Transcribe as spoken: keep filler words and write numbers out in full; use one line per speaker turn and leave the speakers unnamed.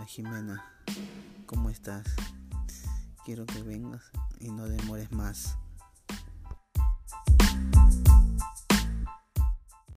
Hola Jimena, ¿cómo estás? Quiero que vengas y no demores más.